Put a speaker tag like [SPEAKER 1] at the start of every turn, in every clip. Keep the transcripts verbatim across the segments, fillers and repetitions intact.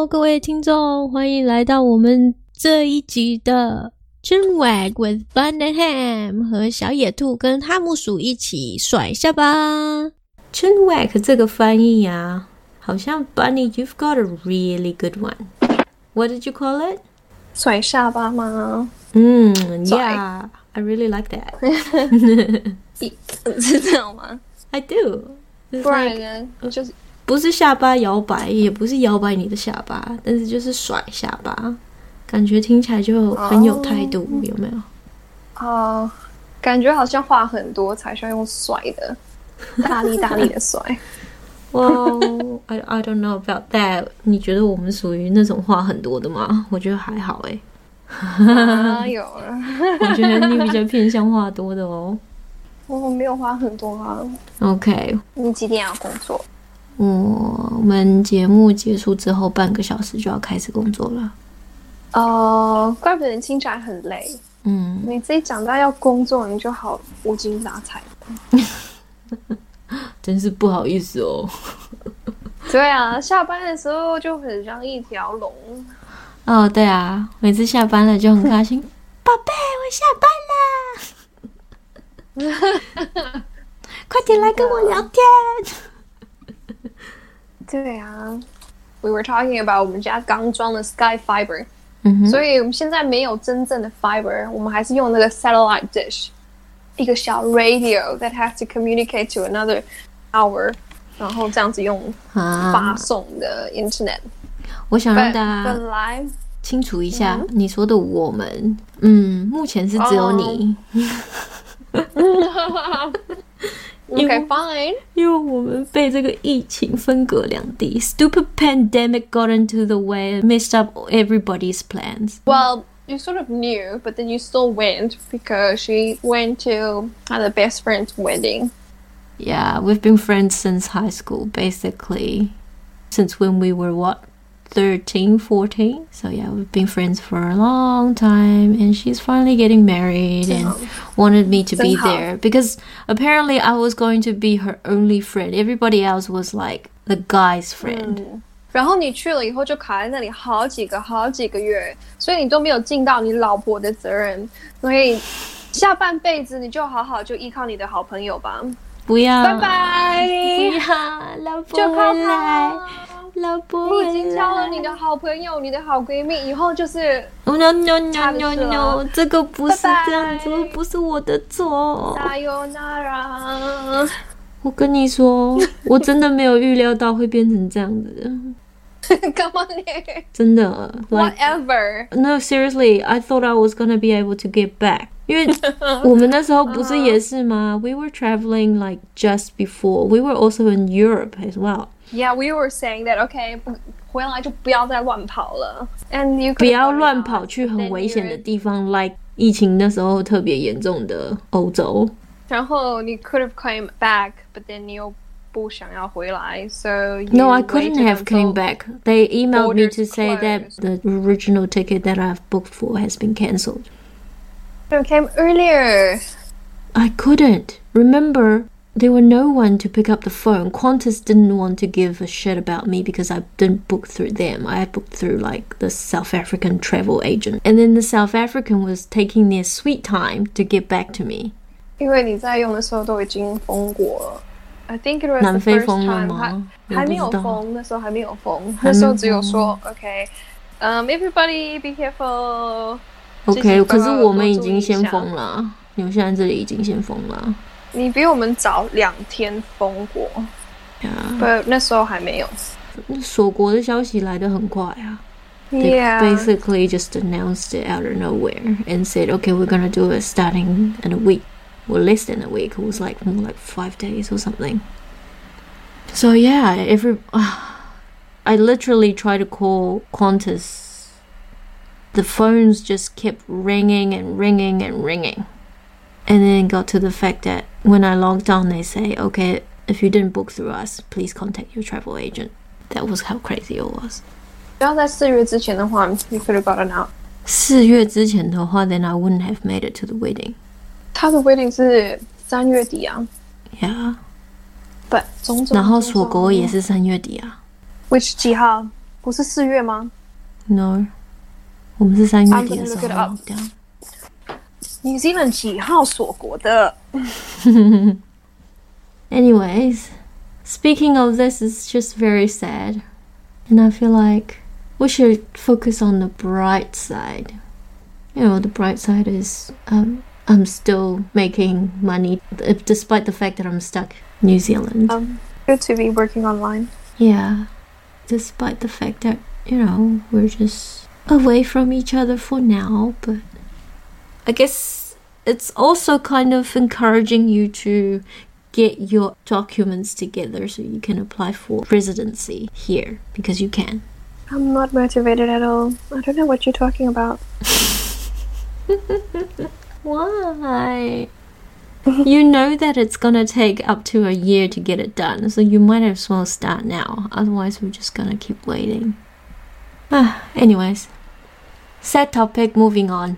[SPEAKER 1] Hello， 各位听众，欢迎来到我们这一集的 Chinwag with Bun and Ham， 和小野兔跟哈姆鼠一起甩下巴。Chinwag 这个翻译啊，好像 Bunny you've got a really good one. What did you call it?
[SPEAKER 2] 甩下巴吗？
[SPEAKER 1] 嗯 Yeah, I really like that.
[SPEAKER 2] 是这样吗？
[SPEAKER 1] I do.
[SPEAKER 2] 不然呢？就是
[SPEAKER 1] 不是下巴摇摆，也不是摇摆你的下巴，但是就是甩下巴，感觉听起来就很有态度， oh. 有没有？
[SPEAKER 2] 哦、uh, 感觉好像话很多才需要用甩的，大力大力的甩。
[SPEAKER 1] Well, I I don't know about that. 你觉得我们属于那种话很多的吗？我觉得还好哎、欸。
[SPEAKER 2] 哪有啊？
[SPEAKER 1] 我觉得你比较偏向话多的哦。
[SPEAKER 2] 我没有话很多啊。
[SPEAKER 1] OK。
[SPEAKER 2] 你几点要工作？
[SPEAKER 1] 我们节目结束之后半个小时就要开始工作了。
[SPEAKER 2] 哦、uh, 怪不得你听起来很累。
[SPEAKER 1] 嗯，
[SPEAKER 2] 你自己讲到要工作，你就好无精打采。
[SPEAKER 1] 真是不好意思哦。
[SPEAKER 2] 对啊，下班的时候就很像一条龙。
[SPEAKER 1] 哦，对啊，每次下班了就很开心。宝贝，我下班啦！快点来跟我聊天。
[SPEAKER 2] 对啊 ，We were talking about 我们家刚装的 Sky Fiber，、
[SPEAKER 1] 嗯、
[SPEAKER 2] 所以我们现在没有真正的 Fiber， 我们还是用那个 Satellite Dish， 一个小 Radio that has to communicate to another tower， 然后这样子用发送的 Internet。
[SPEAKER 1] 我想让大家
[SPEAKER 2] 本来
[SPEAKER 1] 清楚一下，嗯、你说的我们，嗯，目前是只有你。
[SPEAKER 2] Oh. Okay, fine.
[SPEAKER 1] 因为我们被这个疫情分隔两地 ，Stupid pandemic got into the way and messed up everybody's plans.
[SPEAKER 2] Well, you sort of knew, but then you still went because she went to her best friend's wedding.
[SPEAKER 1] Yeah, we've been friends since high school, basically. Since when we were, what, thirteen, fourteen? So yeah, we've been friends for a long time, and she's finally getting married and wanted me to be there because apparently I was going to be her only friend. Everybody else was like the guy's friend.
[SPEAKER 2] 嗯，然后你去了以后就卡在那里好几个好几个月，所以你都没有尽到你老婆的责任，所以下半辈子你就好好就依靠你的好朋友吧。
[SPEAKER 1] 不要，
[SPEAKER 2] 拜拜！
[SPEAKER 1] 不要，老婆回来。老婆回来，
[SPEAKER 2] 你已经交了你的好朋友，你的好闺蜜，以后就是
[SPEAKER 1] no no no no no， 这个不是这样子，不是我的错。
[SPEAKER 2] Sayonara。
[SPEAKER 1] 我跟你说，我真的没有预料到会变成这样子。
[SPEAKER 2] 干嘛你？
[SPEAKER 1] 真的
[SPEAKER 2] ，whatever。
[SPEAKER 1] No, seriously, I thought I was gonna be able to get back. 因为我们那时候不是也是吗？ We were traveling like just before. We were also in Europe as well.Yeah,
[SPEAKER 2] we were saying that, okay, 回来就不要再乱跑了 and you
[SPEAKER 1] 不要乱跑去很危险的地方 like 疫情那时候特别严重的欧洲。
[SPEAKER 2] 然後你 could have came back, but then 你又不想要回来 so you
[SPEAKER 1] No, I couldn't have came back. They emailed me to say that the original ticket that I've booked for has been cancelled.
[SPEAKER 2] You came earlier.
[SPEAKER 1] I couldn't. Remember...There were no one to pick up the phone. Qantas didn't want to give a shit about me because I didn't book through them. I had booked through like the South African travel agent. And then the South African was taking their sweet time to get back to me.
[SPEAKER 2] 因为你在用的时候都已经封过了。I think it was the
[SPEAKER 1] 南非
[SPEAKER 2] first
[SPEAKER 1] 封了
[SPEAKER 2] time
[SPEAKER 1] 吗？
[SPEAKER 2] 还还没有封，那时候还没有封，那时候只有说 OK, um, everybody be careful.
[SPEAKER 1] OK, 可是我们已经先封了，你们现在这里已经先封了。
[SPEAKER 2] 你比我们早两天封过
[SPEAKER 1] ，Yeah.
[SPEAKER 2] ，but 那时候还没有。
[SPEAKER 1] 锁国的消息来得很快啊。
[SPEAKER 2] Yeah.
[SPEAKER 1] They basically just announced it out of nowhere and said, "Okay, we're gonna do it starting in a week, or less than a week. It was like more like five days or something." So yeah, every uh, I literally tried to call Qantas. The phones just kept ringing and ringing and ringing. And then it got to the fact that when I logged on, they say, okay, if you didn't book through us, please contact your travel agent. That was how crazy it was.
[SPEAKER 2] 不要在四月之前的话 you could have gotten out.
[SPEAKER 1] 四月之前的话 then I wouldn't have made it to the wedding.
[SPEAKER 2] 他的 wedding 是三月底啊。
[SPEAKER 1] Yeah.
[SPEAKER 2] But 种种
[SPEAKER 1] 然后锁国也是三月底啊。
[SPEAKER 2] Which 几号不是四月吗
[SPEAKER 1] ？No， 我们是三月底的时候 lockdown。
[SPEAKER 2] New Zealand 几号锁国的
[SPEAKER 1] ？Anyways, speaking of this, it's just very sad, and I feel like we should focus on the bright side. You know, the bright side is um, I'm still making money, despite the fact that I'm stuck in New Zealand.
[SPEAKER 2] Um, good to be working online.
[SPEAKER 1] Yeah, despite the fact that, you know, we're just away from each other for now, but I guess it's also kind of encouraging you to get your documents together so you can apply for residency here, because you can.
[SPEAKER 2] I'm not motivated at all. I don't know what you're talking about.
[SPEAKER 1] Why? You know that it's gonna take up to a year to get it done, so you might as well start now. Otherwise, we're just gonna keep waiting. Ah, anyways, sad topic, moving on.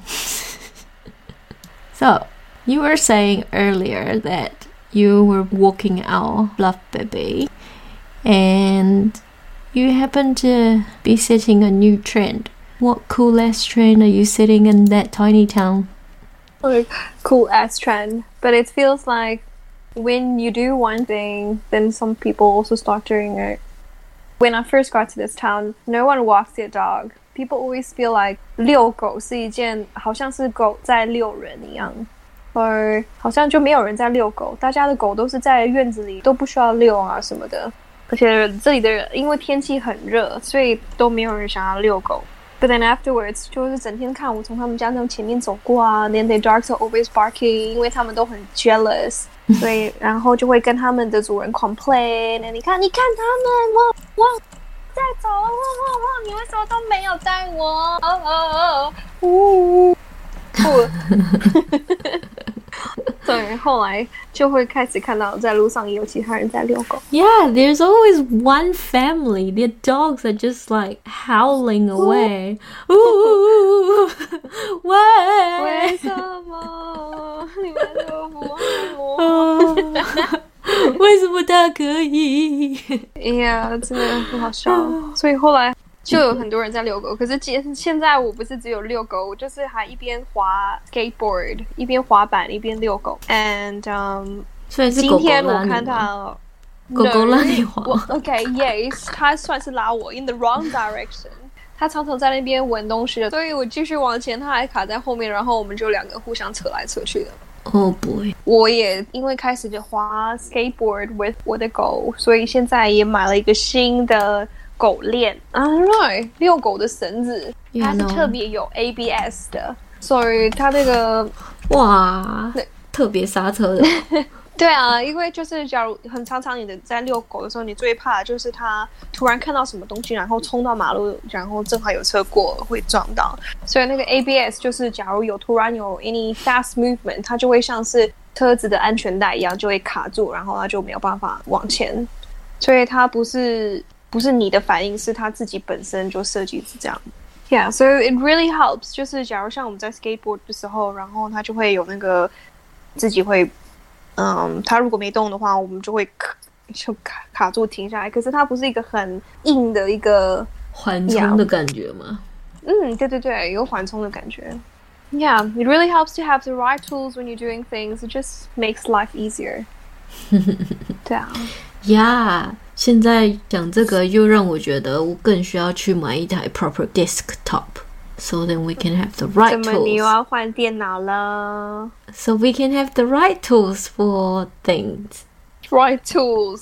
[SPEAKER 1] So, you were saying earlier that you were walking our fluff baby, and you happen to be setting a new trend. What cool ass trend are you setting in that tiny town?
[SPEAKER 2] Like, cool ass trend. But it feels like when you do one thing, then some people also start doing it. When I first got to this town, no one walks their dog. People always feel like 遛狗是一件好像是狗在遛人一样，而好像就没有人在遛狗，大家的狗都是在院子里，都不需要遛啊什么的。而且这里的人因为天气很热，所以都没有人想要遛狗。But then afterwards， 就是整天看我从他们家那前面走过啊 ，then their dogs are always barking， 因为他们都很 jealous， 所以然后就会跟他们的主人 complain， 你看，你看他们，我我在走，我我我，你为什么都没有带我？哦哦哦，呜，对，后来就会开始看到在路上也有其他人在遛狗。
[SPEAKER 1] Yeah, there's always one family. Their dogs are just like howling away. Ooh, why?
[SPEAKER 2] 为什么你们都不爱我？
[SPEAKER 1] 为什么他可以？
[SPEAKER 2] 哎呀，真的很好笑。所以后来就有很多人在遛狗，可是现在我不是只有遛狗，我就是还一边滑 skateboard， 一边滑板，一边遛狗。And um，
[SPEAKER 1] 所以是狗狗拉你吗？
[SPEAKER 2] 今天我看到
[SPEAKER 1] 狗狗拉你滑。
[SPEAKER 2] OK, yes， 他算是拉我 in the wrong direction。他常常在那边闻东西的，所以我继续往前，他还卡在后面，然后我们就两个互相扯来扯去的。
[SPEAKER 1] Oh boy！
[SPEAKER 2] 我也因为开始就滑 skateboard with 我的狗，所以现在也买了一个新的狗链啊，对，遛狗的绳子，它是特别有 A B S 的，所以它那个
[SPEAKER 1] 哇，特别刹车的。
[SPEAKER 2] 对啊，因为就是假如很常常你的在遛狗的时候，你最怕的就是它突然看到什么东西，然后冲到马路，然后正好有车过会撞到。所以那个 A B S 就是假如有突然有 any fast movement， 它就会像是车子的安全带一样，就会卡住，然后它就没有办法往前。所以它不是不是你的反应，是它自己本身就设计是这样。Yeah, so it really helps。就是假如像我们在 skateboard 的时候，然后它就会有那个自己会。嗯，它如果没动的话，我们就会卡就卡卡住停下来。可是它不是一个很硬的一个
[SPEAKER 1] 缓冲的感觉吗？
[SPEAKER 2] 嗯，对对对，有缓冲的感觉。Yeah, it really helps to have the right tools when you're doing things. It just makes life easier. 对啊。
[SPEAKER 1] Yeah， 现在讲这个又让我觉得我更需要去买一台 proper desktop。So then we can have the right tools.
[SPEAKER 2] 怎么你又要换电脑了
[SPEAKER 1] So we can have the right tools for things.
[SPEAKER 2] Right tools.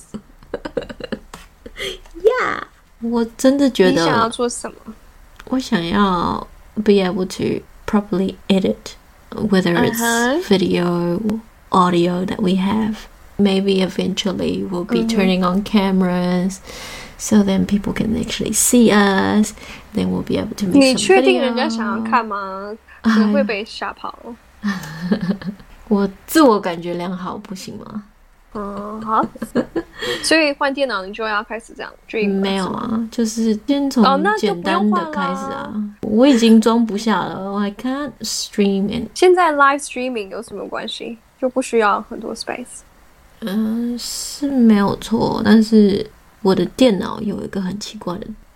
[SPEAKER 1] Yeah. 我真的觉得
[SPEAKER 2] 你想要做什么？
[SPEAKER 1] 我想要 be able to properly edit, whether it's uh-huh. video, audio that we have. Maybe eventually we'll be mm-hmm. turning on cameras.So then people can actually see us. Then we'll be able to make some videos.
[SPEAKER 2] 你确定人家想要看吗？你会被吓跑。
[SPEAKER 1] 我自我感觉良好，不行吗？
[SPEAKER 2] 嗯，好。所以换电脑你就要开始这样 dream？
[SPEAKER 1] 没有啊，就是先从简单的开始啊。我已经装不下了 ，I can't stream and。
[SPEAKER 2] 现在 live streaming 有什么关系？就不需要很多 space。
[SPEAKER 1] 嗯，是没有错，但是。我的电脑有一个很奇怪的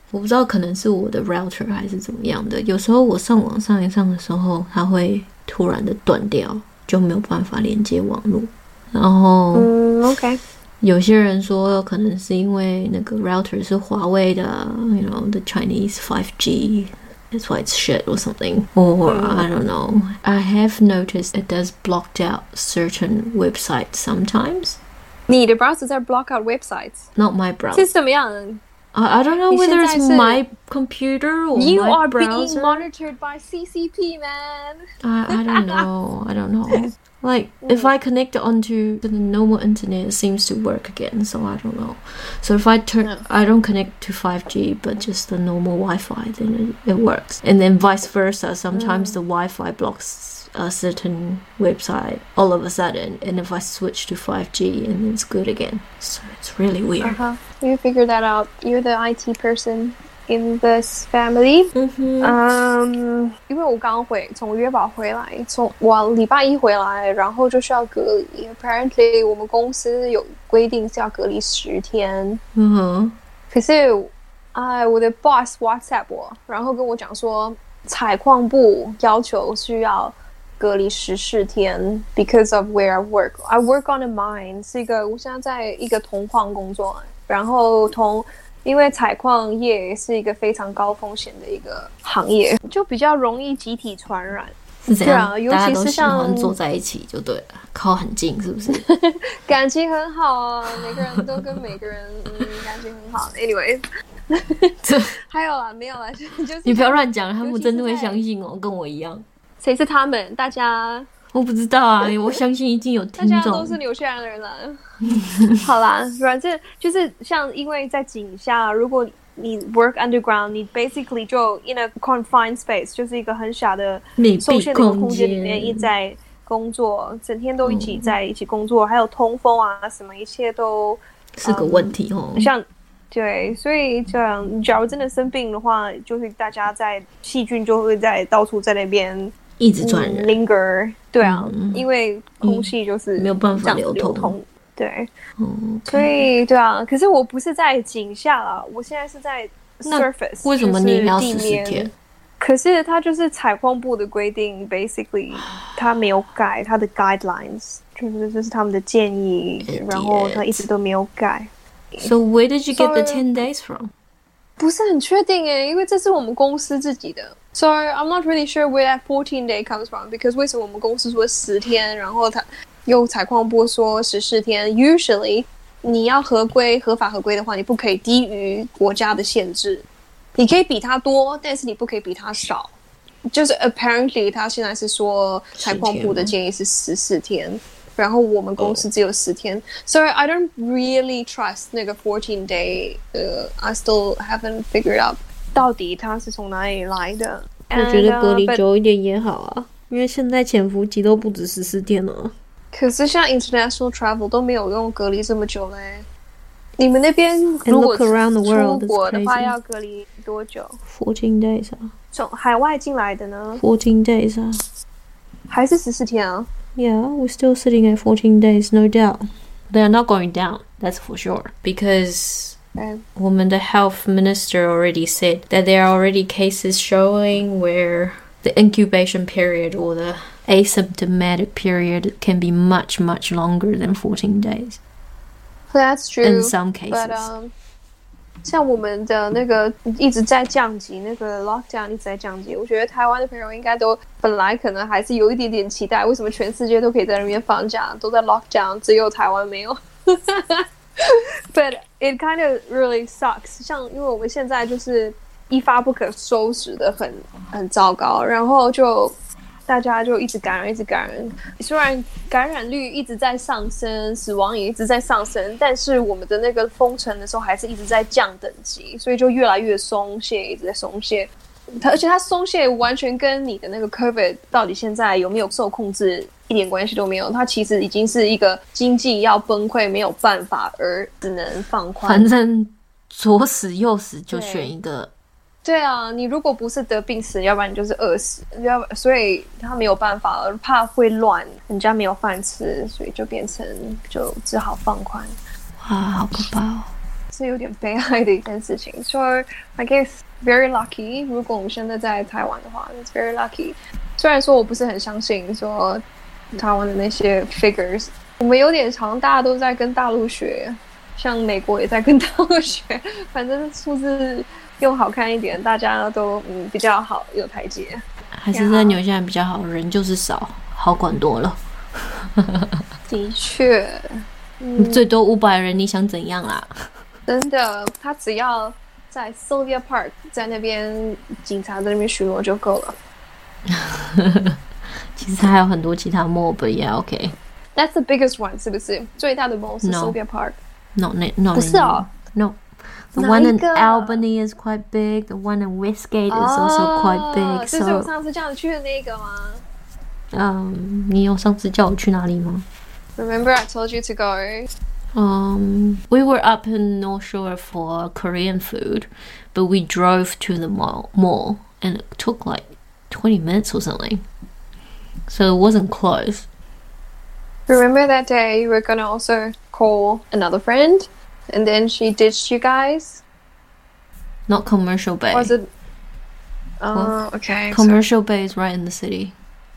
[SPEAKER 1] 我不知道可能是我的 router 还是怎么样的，有时候我上网上一上的时候，它会突然的断掉，就没有办法连接网络。然后，
[SPEAKER 2] 嗯 ，OK。
[SPEAKER 1] 有些人说可能是因为那个 router 是华为的 ，you know the Chinese five G。That's why it's shit or something. Or, I don't know. I have noticed it does block out certain websites sometimes.
[SPEAKER 2] 你的 browser 在 block out websites?
[SPEAKER 1] Not my browser.
[SPEAKER 2] 是怎么样
[SPEAKER 1] I, I don't know whether it's my computer or
[SPEAKER 2] you
[SPEAKER 1] my
[SPEAKER 2] are
[SPEAKER 1] browser.
[SPEAKER 2] being monitored by C C P, man.
[SPEAKER 1] I, I don't know. I don't know. Like, if I connect it onto the normal internet, it seems to work again, so I don't know. So if I turn, yeah. I don't connect to five G, but just the normal Wi-Fi, then it, it works. And then vice versa, sometimes mm. the Wi-Fi blocks a certain website all of a sudden, and if I switch to five G, and it's good again. So it's really weird.
[SPEAKER 2] Uh-huh. You figure that out. You're the I T person in this family.
[SPEAKER 1] 嗯哼，
[SPEAKER 2] 嗯，因为我刚回从约堡回来，从我礼拜一回来，然后就需要隔离。Apparently， 我们公司有规定是要隔离十天。
[SPEAKER 1] 嗯哼，
[SPEAKER 2] 可是，哎，我的 boss WhatsApp 我，然后跟我讲说，采矿部要求需要隔离十四天 ，because of where I work. I work on a mine， 是一个我现在在一个铜矿工作，然后铜。因为采矿业是一个非常高风险的一个行业，就比较容易集体传染。
[SPEAKER 1] 是这样，
[SPEAKER 2] 对啊，尤其是像
[SPEAKER 1] 大家都喜欢坐在一起就对了，靠很近是不是？
[SPEAKER 2] 感情很好啊，每个人都跟每个人嗯感情很好。Anyway， 还有啦，没有啦，就是
[SPEAKER 1] 你不要乱讲，他们真的会相信哦，跟我一样。
[SPEAKER 2] 谁是他们？大家
[SPEAKER 1] 我不知道啊，我相信一定有听众。
[SPEAKER 2] 大家都是纽西兰人啦。好啦，反正就是像因为在井下，如果你 work underground， 你 basically 就 in a confined space， 就是一个很小的受限的一个空间里面一直在工作，整天都一起在一起工作，嗯、还有通风啊什么，一切都
[SPEAKER 1] 是个问题哦。
[SPEAKER 2] 嗯、像对，所以这样，假如真的生病的话，就是大家在细菌就会在到处在那边。
[SPEAKER 1] 一直传染、
[SPEAKER 2] 嗯、，linger， 对啊、嗯，因为空气就是
[SPEAKER 1] 没有办法流
[SPEAKER 2] 通，通对，
[SPEAKER 1] 嗯 okay.
[SPEAKER 2] 所以对啊，可是我不是在井下啦，我现在是在 surface，
[SPEAKER 1] 为什么你要十四天？
[SPEAKER 2] 可是它就是采矿部的规定 ，basically 它没有改它的 guidelines， 就是这是他们的建议，然后它一直都没有改。
[SPEAKER 1] So where did you get the ten days from？
[SPEAKER 2] 不是很确定耶，因为这是我们公司自己的。So I'm not really sure where that fourteen day comes from because 为什么我们公司说十天，然后他又采矿部说十四天 ？Usually 你要合规、合法合规的话，你不可以低于国家的限制，你可以比它多，但是你不可以比它少。就是 apparently 他现在是说采矿部的建议是十四天，然后我们公司只有十天。So I don't really trust 那个 fourteen day， 呃、uh, ，I still haven't figured out。到底它是从哪里来的？
[SPEAKER 1] 我觉得隔离久一点也好啊，因为现在潜伏期都不止十四天了。
[SPEAKER 2] 可是像 international travel 都没有用隔离这么久嘞。你们那边如果出国的话要隔离多久
[SPEAKER 1] ？fourteen days 啊。
[SPEAKER 2] 从海外进来的呢
[SPEAKER 1] ？fourteen days 啊。
[SPEAKER 2] 还是十四天啊
[SPEAKER 1] ？Yeah, we're still sitting at fourteen days, no doubt. They are not going down, that's for sure, because.And woman, the health minister already said that there are already cases showing where the incubation period or the asymptomatic period can be much, much longer than fourteen days.
[SPEAKER 2] That's true.
[SPEAKER 1] In some cases.
[SPEAKER 2] But, um, 像我们的那个一直在降级，那个 lockdown 一直在降级。我觉得台湾的朋友应该都本来可能还是有一点点期待，为什么全世界都可以在那边放假，都在 lockdown， 只有台湾没有。But it kind of really sucks. 像因为我们现在就是一发不可收拾的很很糟糕，然后就大家就一直感染，一直感染。虽然感染率一直在上升，死亡也一直在上升，但是我们的那个封城的时候还是一直在降等级，所以就越来越松懈，一直在松懈。它而且它松懈完全跟你的那个 COVID 到底现在有没有受控制一点关系都没有，它其实已经是一个经济要崩溃没有办法而只能放宽。
[SPEAKER 1] 反正左死右死就选一个。
[SPEAKER 2] 对啊，你如果不是得病死，要不然你就是饿死，要所以他没有办法了，怕会乱，人家没有饭吃，所以就变成就只好放宽。
[SPEAKER 1] 哇，好可怕哦！
[SPEAKER 2] 是有点悲哀的一件事情。So I guess very lucky. 如果我们现在在台湾的话 ，it's very lucky. 虽然说我不是很相信说台湾的那些 figures， 我们有点常大家都在跟大陆学，像美国也在跟大陆学，反正数字用好看一点，大家都嗯比较好有台阶。
[SPEAKER 1] 还是在纽西兰比较好，人就是少，好管多了。
[SPEAKER 2] 的确。
[SPEAKER 1] 嗯、最多五百人，你想怎样啦？
[SPEAKER 2] 真的，他只要在 Sylvia Park 在那边，警察在那边巡逻就够了。
[SPEAKER 1] 其实还有很多其他 mall， but yeah, okay.
[SPEAKER 2] That's the biggest one， 是不是？最大的 mall 是 Sylvia Park。No,
[SPEAKER 1] no,
[SPEAKER 2] 不是哦。
[SPEAKER 1] No, the one in Albany is quite big. The one in Westgate is also quite big.
[SPEAKER 2] 这是我上次叫你去的那个吗？
[SPEAKER 1] 嗯，你有上次叫我去哪里吗？
[SPEAKER 2] Remember I told you to go?
[SPEAKER 1] Um, we were up in North Shore for Korean food, but we drove to the mall, mall and it took like twenty minutes or something. So it wasn't close.
[SPEAKER 2] Remember that day you were going to also call another friend and then she ditched you guys?
[SPEAKER 1] Not Commercial Bay.
[SPEAKER 2] Was it? Oh,
[SPEAKER 1] well,
[SPEAKER 2] okay.
[SPEAKER 1] Commercial so... Bay is right in the city.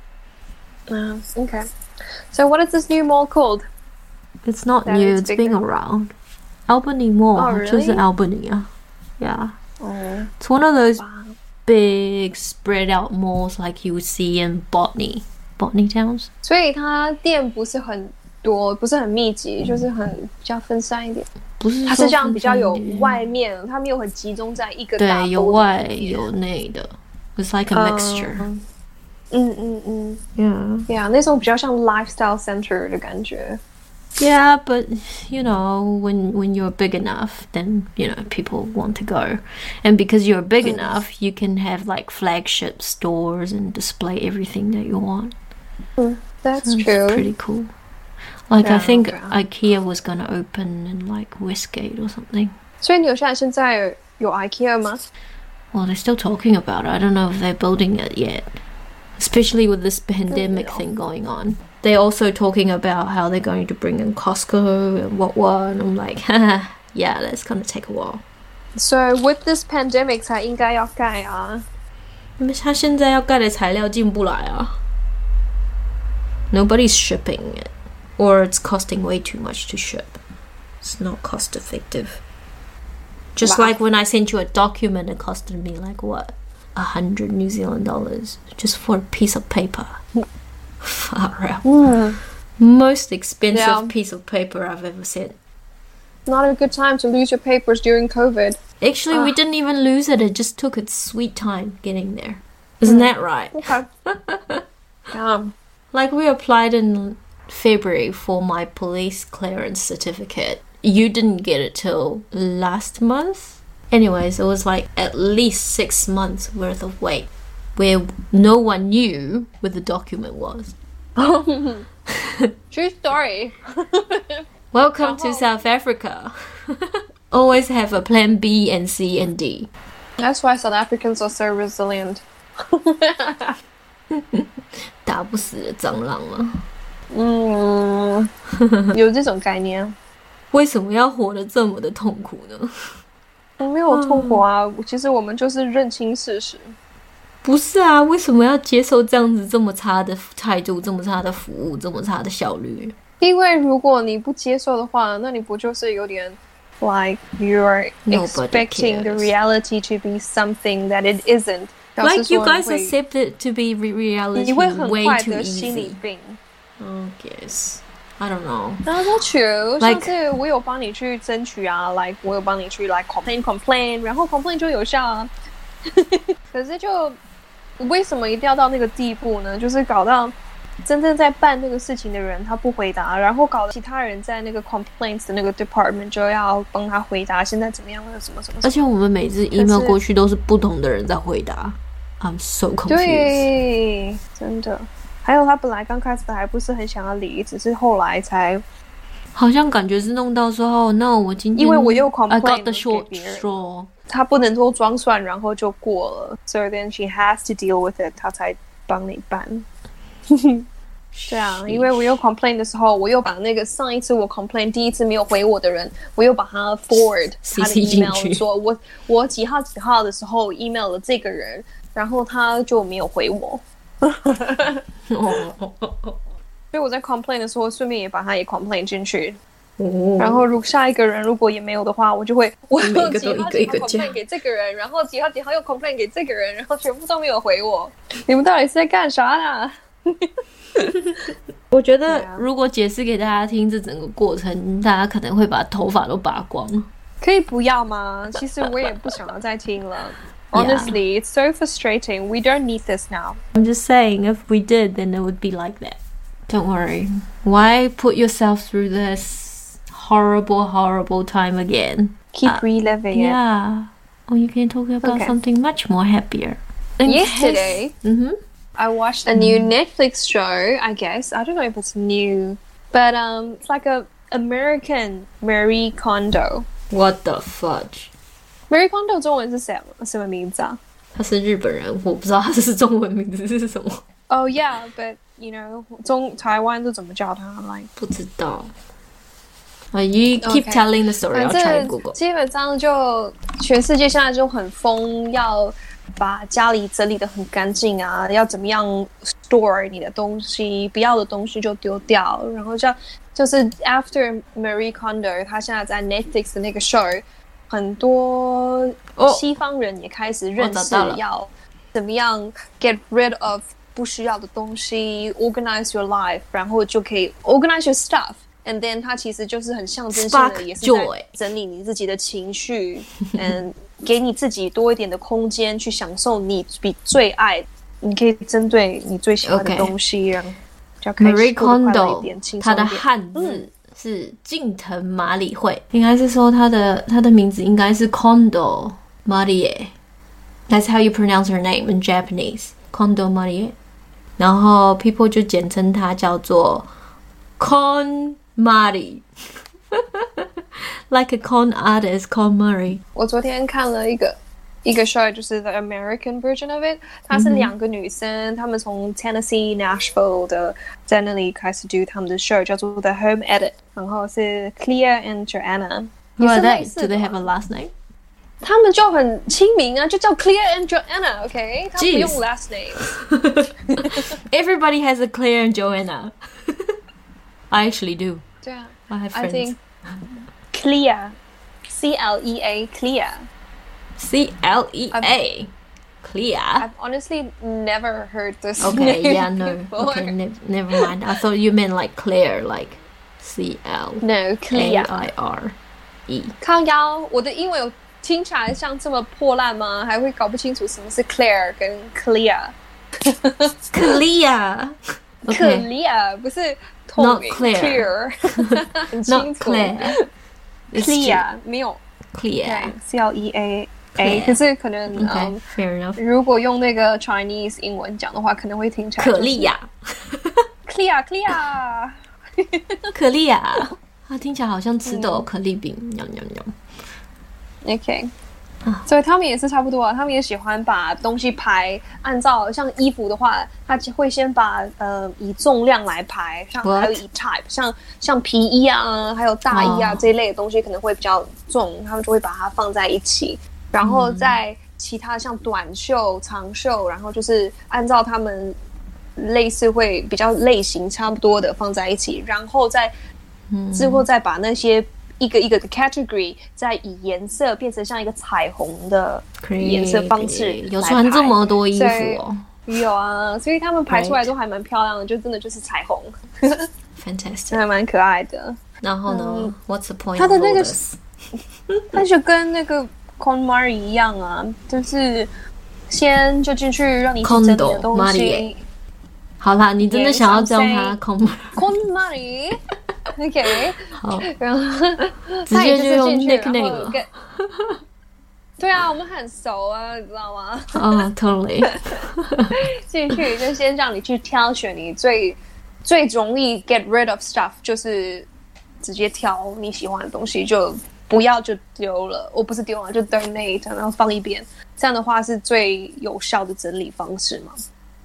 [SPEAKER 2] Oh, okay. So what is this new mall called?
[SPEAKER 1] It's not that new, it's been around. Albany Mall,
[SPEAKER 2] oh, really?
[SPEAKER 1] 就是 Albany 啊 Yeah.
[SPEAKER 2] Oh.
[SPEAKER 1] It's one of those
[SPEAKER 2] wow.
[SPEAKER 1] big spread out malls like you would see in Botany. Botany towns.
[SPEAKER 2] 所以它店不是很多，不是很密集，就是很比较分散一点。
[SPEAKER 1] 不是，
[SPEAKER 2] 它是这样比较有外面，它没有很集中在一个大。
[SPEAKER 1] 对，有外有内的。It's like a mixture.
[SPEAKER 2] Um, 嗯嗯嗯
[SPEAKER 1] Yeah.
[SPEAKER 2] Yeah, 那种比较像 lifestyle center 的感觉。
[SPEAKER 1] Yeah, but you know, when when you're big enough, then you know people want to go, and because you're big mm. enough, you can have like flagship stores and display everything that you want.
[SPEAKER 2] Mm, that's
[SPEAKER 1] so
[SPEAKER 2] true.
[SPEAKER 1] It's pretty cool. Like yeah, I think
[SPEAKER 2] okay.
[SPEAKER 1] IKEA was gonna open in like Westgate or something.
[SPEAKER 2] 所以纽西兰现在有 IKEA 吗？
[SPEAKER 1] Well, they're still talking about it. I don't know if they're building it yet. Especially with this pandemic thing going on. They're also talking about how they're going to bring in Costco and what what. And I'm like, yeah, that's going to take a while.
[SPEAKER 2] So with this pandemic, 才应该要盖啊。
[SPEAKER 1] 他现在要盖的材料进不来啊。Nobody's shipping it. Or it's costing way too much to ship. It's not cost effective. Just wow. like when I sent you a document, it costed me like what? A hundred New Zealand dollars just for a piece of paper. Far out.
[SPEAKER 2] Mm.
[SPEAKER 1] Most expensive
[SPEAKER 2] yeah.
[SPEAKER 1] piece of paper I've ever seen.
[SPEAKER 2] Not a good time to lose your papers during COVID.
[SPEAKER 1] Actually, uh. we didn't even lose it. It just took its sweet time getting there. Isn't mm. that right?
[SPEAKER 2] Okay. um.
[SPEAKER 1] Like we applied in February for my police clearance certificate. You didn't get it till last month? Anyways, it was like at least six months worth of wait where no one knew where the document was.
[SPEAKER 2] True story.
[SPEAKER 1] Welcome to South Africa. Always have a plan B and C and D.
[SPEAKER 2] That's why South Africans are so resilient.
[SPEAKER 1] 打不死的蟑螂吗？
[SPEAKER 2] 嗯，有这种概念。
[SPEAKER 1] 为什么要活得这么的痛苦呢？
[SPEAKER 2] 我没有痛苦啊，嗯、其实我们就是认清事实。
[SPEAKER 1] 不是啊，为什么要接受这样子这么差的态度、这么差的服务、这么差的效率？
[SPEAKER 2] 因为如果你不接受的话，那你不就是有点 like you're expecting the reality to be something that it isn't?
[SPEAKER 1] Like you guys accept it to be reality
[SPEAKER 2] 你会很
[SPEAKER 1] way
[SPEAKER 2] 快
[SPEAKER 1] too
[SPEAKER 2] 得心理
[SPEAKER 1] easy.
[SPEAKER 2] 病。
[SPEAKER 1] I guess. I don't know.
[SPEAKER 2] That's not true.
[SPEAKER 1] Like,
[SPEAKER 2] 上次我有帮你去争取啊 ，like 我有帮你去 like complain complain， 然后 complain 就有效啊。可是就为什么一定要到那个地步呢？就是搞到真正在办这个事情的人他不回答，然后搞得其他人在那个 complaints 的那个 department 就要帮他回答现在怎么样了什么什么。
[SPEAKER 1] 而且我们每次 email 过去都是不同的人在回答。I'm so confused.
[SPEAKER 2] 对，真的。还有他本来刚开始还不是很想要理，只是后来才
[SPEAKER 1] 好像感觉是弄到说哦，那我今天
[SPEAKER 2] 因为我又 complain
[SPEAKER 1] I got the short
[SPEAKER 2] 给别人
[SPEAKER 1] straw，
[SPEAKER 2] 他不能够装蒜，然后就过了， so then she has to deal with it， 他才帮你办。 对啊，因为我有 complain 的时候，我又把那个上一次我 complain 第一次没有回我的人，我又把他 forward 他的 email 说我我几号几号的时候 email 了这个人，然后他就没有回我。所以我在 complain 的时候，顺便也把他也 complain 进去。哦、然后如下一个人如果也没有的话，我就会我几号几号 complain 给这个人，然后几号几号又 complain 给这个人，然后全部都没有回我。你们到底是在干啥呢？
[SPEAKER 1] 我觉得如果解释给大家听这整个过程，大家可能会把头发都拔光。
[SPEAKER 2] 可以不要吗？其实我也不想要再听了。Honestly, it's so frustrating. We don't need this now.
[SPEAKER 1] I'm just saying, if we did, then it would be like that. Don't worry. Why put yourself through this horrible, horrible time again?
[SPEAKER 2] Keep uh, reliving
[SPEAKER 1] it. Yeah. Or you can talk about okay. something much more happier.
[SPEAKER 2] In Yesterday,
[SPEAKER 1] case, mm-hmm.
[SPEAKER 2] I watched a new Netflix show, I guess. I don't know if it's new. But um, it's like a American Marie Kondo.
[SPEAKER 1] What the fudge?
[SPEAKER 2] Marie Kondo 中文是什么什么名字啊？
[SPEAKER 1] 他是日本人，我不知道他是中文名字是什么。
[SPEAKER 2] Oh yeah, but you know, 中台湾都怎么叫他来？
[SPEAKER 1] 不知道。Uh, you keep okay. telling the story. I'll try to Google.
[SPEAKER 2] 基本上就全世界现在就很疯，要把家里整理得很干净啊，要怎么样 store 你的东西，不要的东西就丢掉。然后像就是 after Marie Kondo， 他现在在 Netflix 的那个 show。很多西方人也开始认识要怎么样 get rid of 不需要的东西 organize your life 然后就可以 organize your stuff and then 它其实就是很象征性的也是在整理你自己的情绪嗯，给你自己多一点的空间去享受你比最爱你可以针对你最喜欢的东西然后就可以
[SPEAKER 1] Marie Kondo 它的汉字、嗯是近藤麻里惠，应该是说她的她的名字应该是 Kondo Marie. That's how you pronounce her name in Japanese. Kondo Marie. 然后 people 就简称她叫做 Kon Mari. Like a con artist, Kon Mari.
[SPEAKER 2] 我昨天看了一个一个 show 就是 the American version of it 它是两个女生她们从 Tennessee Nashville 的在那里开始 do 他们的 show 叫做 The Home Edit 然后是 Clea and Joanna
[SPEAKER 1] 也是类似的 Do they have a last name?
[SPEAKER 2] 他们就很亲民啊就叫 Clea and Joanna OK 他们不用 last name
[SPEAKER 1] Everybody has a Clea and Joanna I actually do
[SPEAKER 2] 对啊
[SPEAKER 1] I have friends
[SPEAKER 2] I think Clea C L E A Clea
[SPEAKER 1] C L E A Clea
[SPEAKER 2] I've honestly never heard this
[SPEAKER 1] Okay,
[SPEAKER 2] name
[SPEAKER 1] yeah, no
[SPEAKER 2] before.
[SPEAKER 1] Okay, ne- never mind I thought you meant like Claire Like C L
[SPEAKER 2] No, Clea
[SPEAKER 1] A I R E
[SPEAKER 2] 靠腰我的英文有听起来像这么破烂吗还会搞不清楚什么是 Claire 跟 Clea
[SPEAKER 1] Clea
[SPEAKER 2] Clea 不是透明 Clear 很清楚
[SPEAKER 1] Not Claire
[SPEAKER 2] Clea 没有
[SPEAKER 1] Clea
[SPEAKER 2] C L E A A 可是可能
[SPEAKER 1] okay, um, fair enough.
[SPEAKER 2] 如果用那个 Chinese 英文讲的话可能会听起来、就是、
[SPEAKER 1] 可丽亚
[SPEAKER 2] Clea Clea
[SPEAKER 1] 可丽亚它听起来好像吃的有可丽饼喵喵喵
[SPEAKER 2] OK 所以他们也是差不多啊他们也喜欢把东西排按照像衣服的话他会先把呃以重量来排像还有以 type 像像皮衣啊还有大衣啊、oh. 这一类的东西可能会比较重他们就会把它放在一起然后在其他像短袖长袖然后就是按照他们类似会比较类型差不多的放在一起然后再之后再把那些一个一个的 category 再以颜色变成像一个彩虹的颜色方式
[SPEAKER 1] 有穿这么多衣服哦
[SPEAKER 2] 有啊所以他们排出来都还蛮漂亮的就真的就是彩虹
[SPEAKER 1] Fantastic
[SPEAKER 2] 还蛮可爱的
[SPEAKER 1] 然后呢、嗯、What's the point
[SPEAKER 2] 他的那个他就跟那个 KonMari 一样啊就是先就进去让你去整理的东西
[SPEAKER 1] 好啦你真的想要叫他 KonMari
[SPEAKER 2] KonMari OK
[SPEAKER 1] 好
[SPEAKER 2] 然后
[SPEAKER 1] 直接就用 nickname 了
[SPEAKER 2] 对啊我们很熟啊你知道吗
[SPEAKER 1] 哦、oh, totally
[SPEAKER 2] 进去就先让你去挑选你最最容易 get rid of stuff 就是直接挑你喜欢的东西就不要就丢了我不是丢了就 donate 然后放一边这样的话是最有效的整理方式嘛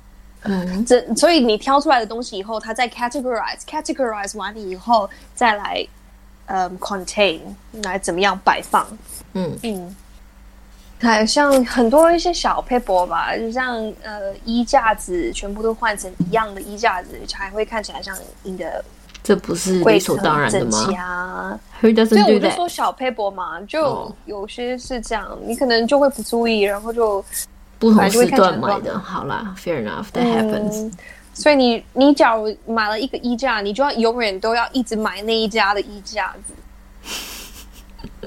[SPEAKER 2] 嗯，这所以你挑出来的东西以后，它再 categorize categorize 完以后，再来嗯 contain 来怎么样摆放。嗯嗯，还像很多一些小 paper 吧，就像呃衣架子全部都换成一样的衣架子，才会看起来像你的。
[SPEAKER 1] 这不是理所当然的吗？
[SPEAKER 2] 啊、
[SPEAKER 1] Who doesn't do that？
[SPEAKER 2] 所以我就说小 paper 嘛，就有些是这样， oh. 你可能就会不注意，然后就
[SPEAKER 1] 不同时段买的。好啦 ，fair enough, that happens、嗯。
[SPEAKER 2] 所以你你假如买了一个衣架，你就要永远都要一直买那一家的衣架子。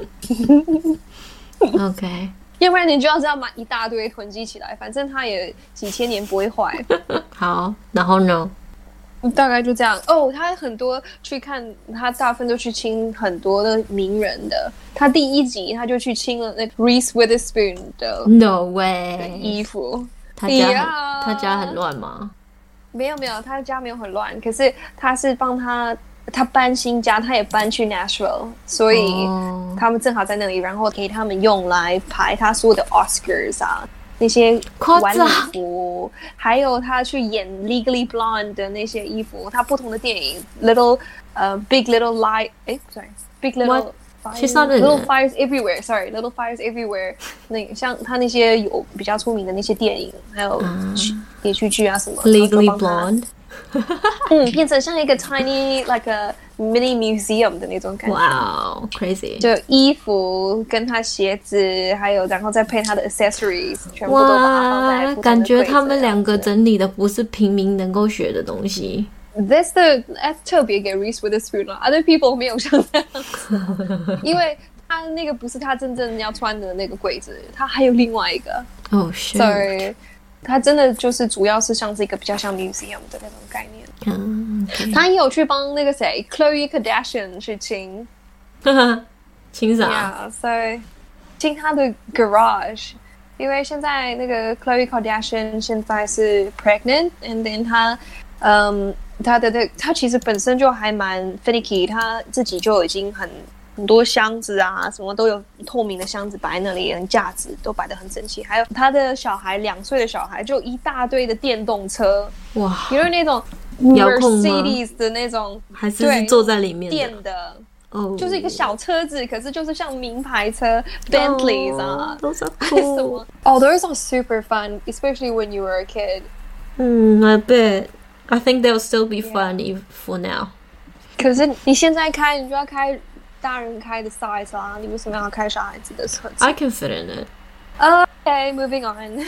[SPEAKER 1] OK，
[SPEAKER 2] 要不然你就要这样买一大堆囤积起来，反正它也几千年不会坏。
[SPEAKER 1] 好，然后呢？
[SPEAKER 2] 大概就这样哦。他很多去看，他大部分都去亲很多的名人的。他第一集他就去亲了那 Reese Witherspoon 的
[SPEAKER 1] No way
[SPEAKER 2] 的衣服。
[SPEAKER 1] 他家很、yeah. 他家很乱吗？
[SPEAKER 2] 没有没有，他家没有很乱，可是他是帮他他搬新家，他也搬去 Nashville， 所以他们正好在那里，然后给他们用来排他所有的 Oscars 啊。那些晚礼服，还有他去演 Legally Blonde 的那些衣服，他不同的电影 Little 呃、uh, Big Little Lie， 哎 ，sorry Big Little
[SPEAKER 1] Fires,
[SPEAKER 2] Little Fires Everywhere，sorry Little Fires Everywhere， 那像他那些有比较出名的那些电影，还有连续剧啊什么
[SPEAKER 1] Legally Blonde，
[SPEAKER 2] 嗯，变成像一个 tiny like a mini museum 的那种感觉。
[SPEAKER 1] 哇、wow, ，crazy！
[SPEAKER 2] 就衣服跟他鞋子，还有然后再配他的 accessories， 全部都把它放在不同的柜子。
[SPEAKER 1] 感觉他们两个整理的不是平民能够学的东西。
[SPEAKER 2] That's the that's 特别给 Reese Witherspoon 了 ，other people 没有像这样子，因为他那个不是他真正要穿的那个柜子，他还有另外一个。
[SPEAKER 1] 哦，是。
[SPEAKER 2] 所以他真的就是主要是像是一个比较像 museum 的那种概念。
[SPEAKER 1] 嗯， okay.
[SPEAKER 2] 他也有去帮那个谁 Khloe Kardashian 去亲，
[SPEAKER 1] 亲啥？
[SPEAKER 2] Yeah， 所以亲他的 garage， 因为现在那个 Khloe Kardashian 现在是 pregnant，and then 他，嗯，他的的他其实本身就还蛮 finicky， 他自己就已经很。很多箱子啊，什么都有透明的箱子摆在那里，连架子都摆得很整齐。还有他的小孩，两岁的小孩，就一大堆的电动车，
[SPEAKER 1] 哇，
[SPEAKER 2] 因为那种
[SPEAKER 1] 遥控吗
[SPEAKER 2] Mercedes 的那种，
[SPEAKER 1] 还是坐在里面的
[SPEAKER 2] 电的，
[SPEAKER 1] 哦、oh ，
[SPEAKER 2] 就是一个小车子，可是就是像名牌车 Bentleys 啊，
[SPEAKER 1] 都是 cool。
[SPEAKER 2] Oh, those are super fun, especially when you were a kid.
[SPEAKER 1] 嗯 I bet. I think they'll still be fun yeah. for now.
[SPEAKER 2] 可是你现在开，你就要开。大人开的 size 啊，你为什么要开小孩子的车子
[SPEAKER 1] I can fit in it.
[SPEAKER 2] Okay, moving on.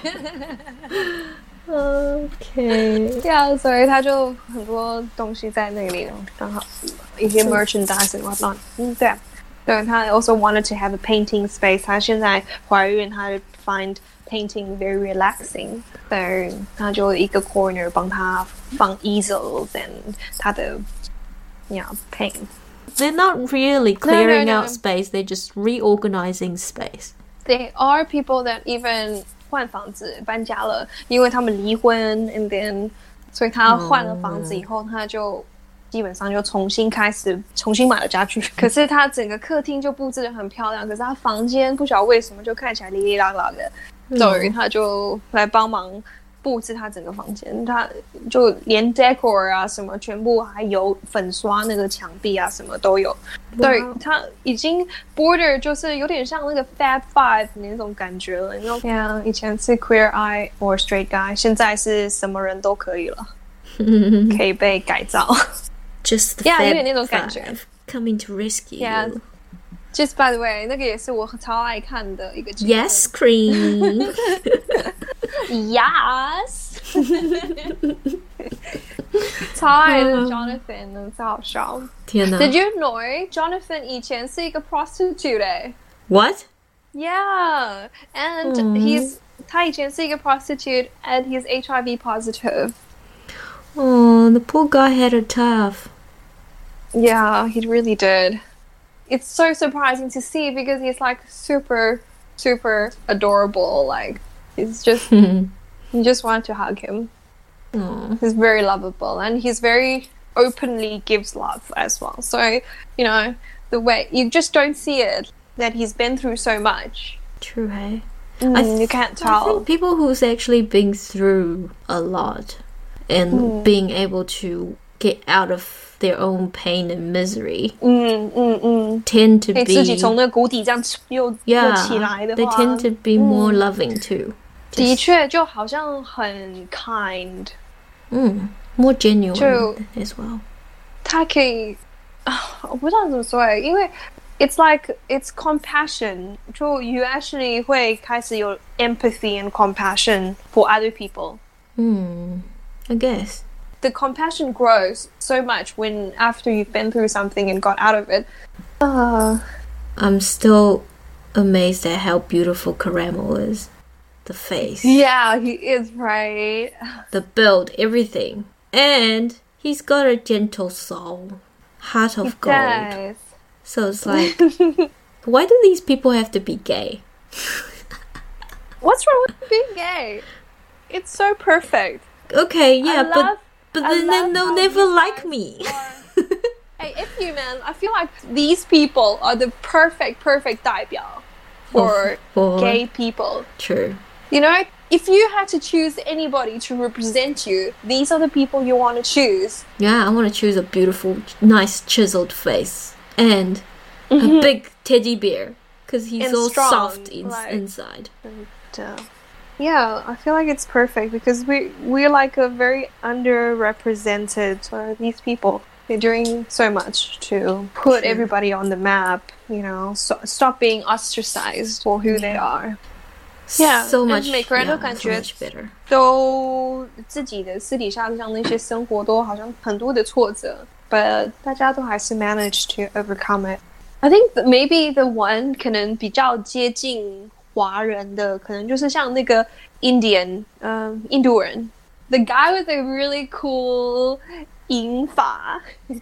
[SPEAKER 1] Okay.
[SPEAKER 2] Yeah, 所以他就很多东西在那里，刚好一些 merchandise and whatnot. 嗯，对啊，对，他 also wanted to have a painting space. 他现在怀孕，他 find painting very relaxing. 对，他就一个 corner 帮他放 easels and 他的 yeah paint.They're
[SPEAKER 1] not really clearing
[SPEAKER 2] no, no, no.
[SPEAKER 1] out space, they're just reorganizing space.
[SPEAKER 2] There are people that even 换房子搬家了，因为他们离婚 and then 所以他换了房子以后， oh. 他就基本上就重新开始重新买了家具。可是他整个客厅就布置得很漂亮，可是他房间不晓得为什么就看起来哩哩啦啦的，所以他就来帮忙布置他整个房间，他就连 decor 啊什么全部还有粉刷那个墙壁啊什么都有。对，他已经 border 就是有点像那个 Fab Five 那种感觉了。你知道 ，Yeah， 以前是 queer eye or straight guy， 现在是什么人都可以了，可以被改造。
[SPEAKER 1] Just the
[SPEAKER 2] yeah，
[SPEAKER 1] Fab
[SPEAKER 2] 有点那种感觉
[SPEAKER 1] coming to rescue
[SPEAKER 2] you。Yeah. Just by the way， 那个也是我超爱看的一个节目。
[SPEAKER 1] Yes, Cream.
[SPEAKER 2] Yes. 超爱的 Jonathan 呢，超好笑。
[SPEAKER 1] 天哪
[SPEAKER 2] ！Did you know Jonathan 以前是一个 prostitute 哎
[SPEAKER 1] ？What?
[SPEAKER 2] Yeah, and he's 他以前是一个 prostitute and he's H I V positive.
[SPEAKER 1] Oh, the poor guy had it tough.
[SPEAKER 2] Yeah, he really did.It's so surprising to see because he's like super, super adorable. Like he's just, you just want to hug him.
[SPEAKER 1] Aww.
[SPEAKER 2] He's very lovable and he's very openly gives love as well. So, you know, the way you just don't see it that he's been through so much.
[SPEAKER 1] True, hey?
[SPEAKER 2] Mm,
[SPEAKER 1] I th-
[SPEAKER 2] you can't tell.
[SPEAKER 1] I think people who's actually been through a lot and mm. being able to get out of their own pain and misery
[SPEAKER 2] mm, mm, mm.
[SPEAKER 1] tend to be
[SPEAKER 2] 自己从那个谷底这样又
[SPEAKER 1] yeah,
[SPEAKER 2] 又起来的话
[SPEAKER 1] they tend to be more loving too.
[SPEAKER 2] 的确就好像很 kind.
[SPEAKER 1] 嗯 more genuine as well.
[SPEAKER 2] 他可以我不知道怎么说耶因为 it's like it's compassion 就 you actually 会开始有 empathy and compassion for other people.
[SPEAKER 1] Hmm, I guess.
[SPEAKER 2] The compassion grows so much when after you've been through something and got out of it. Uh,
[SPEAKER 1] I'm still amazed at how beautiful Caramel is. The face.
[SPEAKER 2] Yeah, he is, right?
[SPEAKER 1] The build, everything. And he's got a gentle soul. Heart of
[SPEAKER 2] he
[SPEAKER 1] gold.
[SPEAKER 2] Does.
[SPEAKER 1] So it's like, why do these people have to be gay?
[SPEAKER 2] What's wrong with being gay? It's so perfect.
[SPEAKER 1] Okay, yeah,
[SPEAKER 2] love,
[SPEAKER 1] but but then, then they'll never like me.
[SPEAKER 2] Hey, if you man, I feel like these people are the perfect, perfect 代表 for,
[SPEAKER 1] for
[SPEAKER 2] gay people.
[SPEAKER 1] True.
[SPEAKER 2] You know, if you had to choose anybody to represent you, these are the people you want to choose.
[SPEAKER 1] Yeah, I want to choose a beautiful, nice, chiseled face and
[SPEAKER 2] mm-hmm.
[SPEAKER 1] a big teddy bear because he's
[SPEAKER 2] and
[SPEAKER 1] all
[SPEAKER 2] strong,
[SPEAKER 1] soft in-
[SPEAKER 2] like,
[SPEAKER 1] inside.
[SPEAKER 2] And, uh, yeah, I feel like it's perfect because we we're like a very underrepresented for these people. They're doing so much to put True. everybody on the map. You know, so, stop being ostracized for who yeah. they are. Yeah,
[SPEAKER 1] so much,
[SPEAKER 2] 每个人都
[SPEAKER 1] yeah,
[SPEAKER 2] 感覺
[SPEAKER 1] so much better.
[SPEAKER 2] 都自己的私底下像那些生活都好像很多的挫折 but 大家都还是 manage to overcome it. I think that maybe the one 可能比较接近华人的可能就是像那个 Indian 嗯、um, 印度人 the guy with a really cool 银发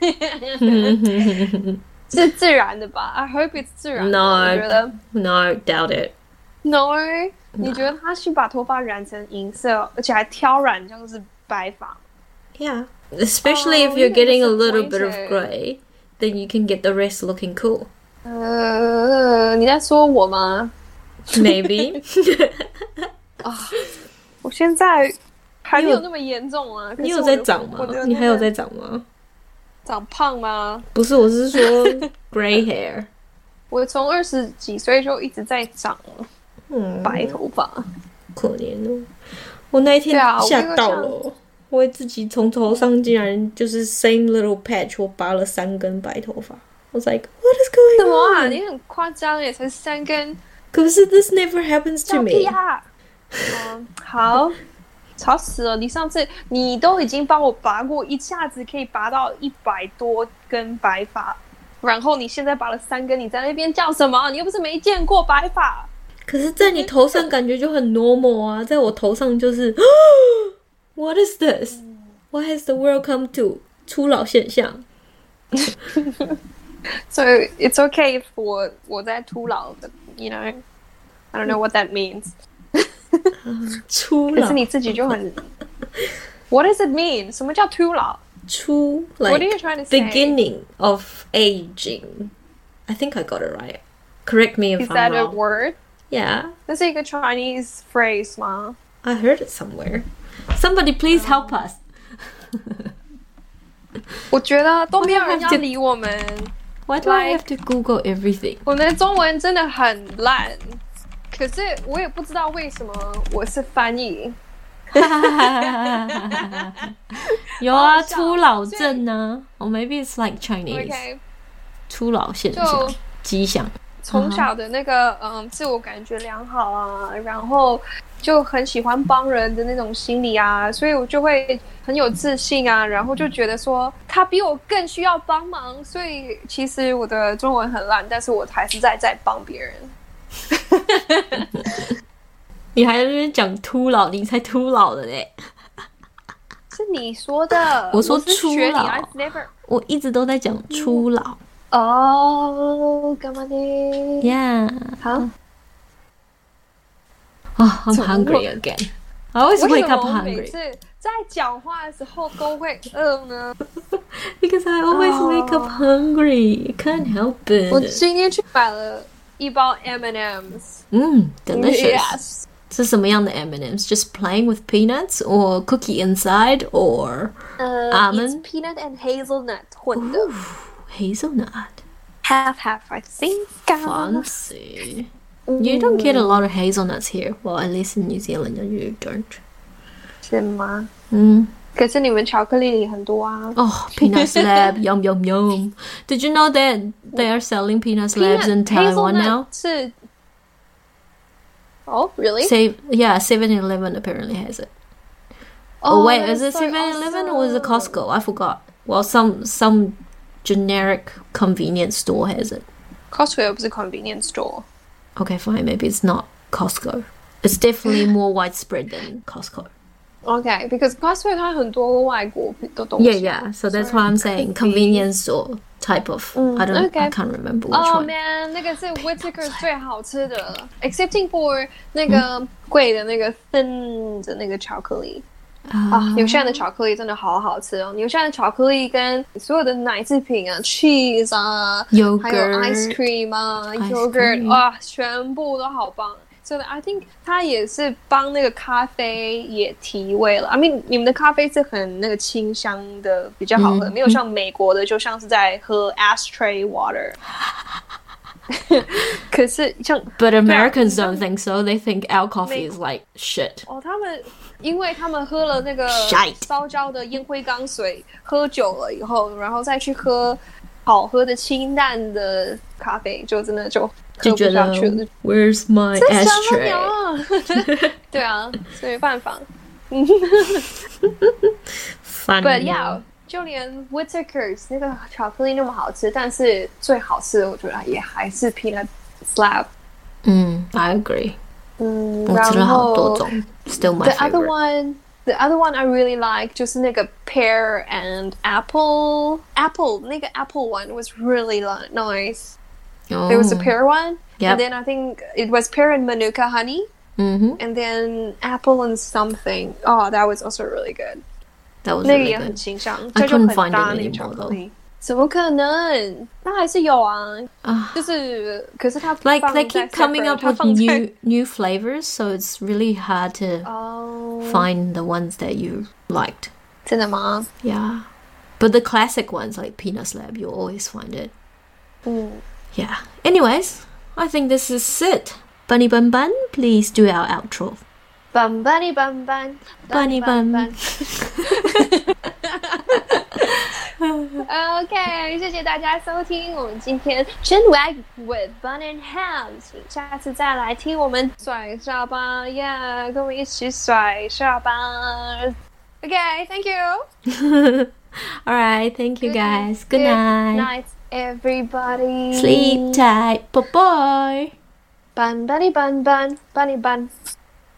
[SPEAKER 2] 是自然的吧 I hope it's 自然的
[SPEAKER 1] No,
[SPEAKER 2] 我觉得
[SPEAKER 1] no, doubt it.
[SPEAKER 2] No, 你觉得他去把头发染成银色而且还挑染这样是白发
[SPEAKER 1] Yeah, especially
[SPEAKER 2] oh,
[SPEAKER 1] if you're getting a little bit of grey then you can get the rest looking cool.
[SPEAKER 2] 呃，你在说我吗
[SPEAKER 1] Maybe.
[SPEAKER 2] 啊，我现在还没有那么严重啊。
[SPEAKER 1] 你有在长吗？你还有在长吗？
[SPEAKER 2] 长胖吗？
[SPEAKER 1] 不是，我是说 gray hair。
[SPEAKER 2] 我从二十几岁就一直在长
[SPEAKER 1] 嗯
[SPEAKER 2] 白头发，
[SPEAKER 1] 可怜哦。我那一天吓到了，我, 我自己从头上竟然就是 same little patch， 我拔了三根白头发。I was like, what is going on?
[SPEAKER 2] 什么啊？你很夸张耶，才三根。
[SPEAKER 1] 可是 this never happens to me.
[SPEAKER 2] 啊嗯，好，吵死了！你上次你都已经帮我拔过，一下子可以拔到一百多根白发，然后你现在拔了三根，你在那边叫什么？你又不是没见过白发。
[SPEAKER 1] 可是，在你头上感觉就很 normal 啊，在我头上就是，What is this? What has the world come to? 初老现象。
[SPEAKER 2] So it's okay if 我我在初老的 ，you know, I don't know what that means.
[SPEAKER 1] 初老，
[SPEAKER 2] 可是你自己就很 ，What does it mean? 什么叫初老？
[SPEAKER 1] 初 like
[SPEAKER 2] What are you trying to say?
[SPEAKER 1] Beginning of aging. I think I got it right. Correct me if
[SPEAKER 2] Is
[SPEAKER 1] I'm
[SPEAKER 2] that
[SPEAKER 1] wrong.
[SPEAKER 2] a word?
[SPEAKER 1] Yeah.
[SPEAKER 2] 那是一个 Chinese phrase 吗
[SPEAKER 1] I heard it somewhere. Somebody please help us.
[SPEAKER 2] 我觉得都没有人要理我们。
[SPEAKER 1] Why do I have to Google everything?
[SPEAKER 2] 我们的中文真的很烂，可是我也不知道为什么我是翻译。
[SPEAKER 1] 有啊，初老症呢 ，or maybe it's like Chinese.
[SPEAKER 2] Okay.
[SPEAKER 1] 初老现象，迹象。
[SPEAKER 2] 从小的那个嗯自我感觉良好啊，然后就很喜欢帮人的那种心理啊，所以我就会很有自信啊，然后就觉得说他比我更需要帮忙，所以其实我的中文很烂，但是我还是在在帮别人。
[SPEAKER 1] 你还在那边讲秃老，你才秃老的嘞！
[SPEAKER 2] 是你说的，
[SPEAKER 1] 我说初老，
[SPEAKER 2] 我, never...
[SPEAKER 1] 我一直都在讲初老。
[SPEAKER 2] 哦，干嘛呢
[SPEAKER 1] ？Yeah，
[SPEAKER 2] 好。
[SPEAKER 1] Oh, I'm hungry again. I always wake up hungry.
[SPEAKER 2] 每次在讲话的时候都会饿呢
[SPEAKER 1] Because I always wake up hungry. I can't help it.
[SPEAKER 2] 我今天去买了一包 M and M's。
[SPEAKER 1] 嗯 delicious.
[SPEAKER 2] Yes.
[SPEAKER 1] 是什么样的 M and M's? Just plain with peanuts or cookie inside or
[SPEAKER 2] uh,
[SPEAKER 1] almond?
[SPEAKER 2] It's peanut and hazelnut 混的。
[SPEAKER 1] Ooh, hazelnut.
[SPEAKER 2] Half half I think.
[SPEAKER 1] Fancy. You don't get a lot of hazelnuts here. Well, at least in New Zealand, you don't.
[SPEAKER 2] 是吗？
[SPEAKER 1] 嗯。
[SPEAKER 2] 可是你们巧克力里很多啊。
[SPEAKER 1] Oh, peanut slab, yum yum yum. Did you know that they are selling peanut slabs in Taiwan now?
[SPEAKER 2] 是 Oh, really?
[SPEAKER 1] Say, yeah, seven eleven apparently has it. Oh, oh wait, is it seven eleven awesome. Or is it Costco? I forgot. Well, some some generic convenience store has it.
[SPEAKER 2] Costco 又不是 convenience store.
[SPEAKER 1] Okay, fine. Maybe it's not Costco. It's definitely more widespread than Costco.
[SPEAKER 2] Okay, because Costco 它很多外国的东西。
[SPEAKER 1] Yeah, yeah. So that's why I'm saying convenience store type of. I don't. Okay. I can't remember which
[SPEAKER 2] oh,
[SPEAKER 1] one.
[SPEAKER 2] Oh man, 那个是 Whittaker 最好吃的 ，excepting for 那个贵的那个 thin 的那个巧克力。啊，纽西兰的巧克力真的好好吃哦！纽西兰的巧克力跟所有的奶制品啊 ，cheese 啊
[SPEAKER 1] ，yogurt，
[SPEAKER 2] 还有 ice cream 啊 ，yogurt 哇，全部都好棒。So I think 它也是帮那个咖啡也提味了。I mean， 你们的咖啡是很那个清香的，比较好喝，嗯、没有像美国的，就像是在喝 ashtray water 。可是像
[SPEAKER 1] ，But Americans don't think so. They think our coffee is like shit.
[SPEAKER 2] 哦，他们因为他们喝了那个烧焦的烟灰缸水，喝久了以后，然后再去喝好喝的清淡的咖啡，就真的就喝不下去了。
[SPEAKER 1] Where's my ashtray?
[SPEAKER 2] 对啊，没办法。
[SPEAKER 1] Funny.
[SPEAKER 2] But yeah. 就连 Whittaker's 那个巧克力那么好吃，但是最好吃的我觉得也还是 peanut slab。
[SPEAKER 1] 嗯 I agree。
[SPEAKER 2] 嗯，
[SPEAKER 1] 我吃了好多种 ，still my
[SPEAKER 2] the
[SPEAKER 1] favorite.
[SPEAKER 2] other one, the other one I really like 就是那个 pear and apple. Apple 那个 apple one was really nice.
[SPEAKER 1] Oh.
[SPEAKER 2] There was a pear one,
[SPEAKER 1] yep.
[SPEAKER 2] and then I think it was pear and manuka honey,
[SPEAKER 1] mm-hmm.
[SPEAKER 2] and then apple and something. Oh, that was also really good.
[SPEAKER 1] That was
[SPEAKER 2] 那个
[SPEAKER 1] really
[SPEAKER 2] 也很
[SPEAKER 1] good.
[SPEAKER 2] 清香，
[SPEAKER 1] I
[SPEAKER 2] 这就
[SPEAKER 1] couldn't
[SPEAKER 2] 很
[SPEAKER 1] find
[SPEAKER 2] 搭
[SPEAKER 1] it
[SPEAKER 2] 那个
[SPEAKER 1] anymore
[SPEAKER 2] 巧克
[SPEAKER 1] though.
[SPEAKER 2] 力。怎么可能？它还是有啊，
[SPEAKER 1] uh,
[SPEAKER 2] 就是可是它
[SPEAKER 1] like they keep coming up with
[SPEAKER 2] 放在
[SPEAKER 1] new new flavors, so it's really hard to
[SPEAKER 2] oh.
[SPEAKER 1] find the ones that you liked.
[SPEAKER 2] 真的吗？
[SPEAKER 1] Yeah, but the classic ones like peanut slab, you'll always find it.
[SPEAKER 2] 嗯
[SPEAKER 1] Yeah. Anyways, I think this is it. Bunny Bun Bun, please do our outro.
[SPEAKER 2] Bun bunny bun bun
[SPEAKER 1] Bunny bun.
[SPEAKER 2] OK， 谢谢大家收听我们今天 Chin Wag with Bun and Ham， 请下次再来听我们甩下巴呀， yeah, 跟我们一起甩下巴。OK，Thank you.
[SPEAKER 1] All right, thank you guys. Good,
[SPEAKER 2] good
[SPEAKER 1] night.
[SPEAKER 2] Good night, everybody.
[SPEAKER 1] Sleep tight. Bye bye.
[SPEAKER 2] Bun bunny bun bun bunny bun.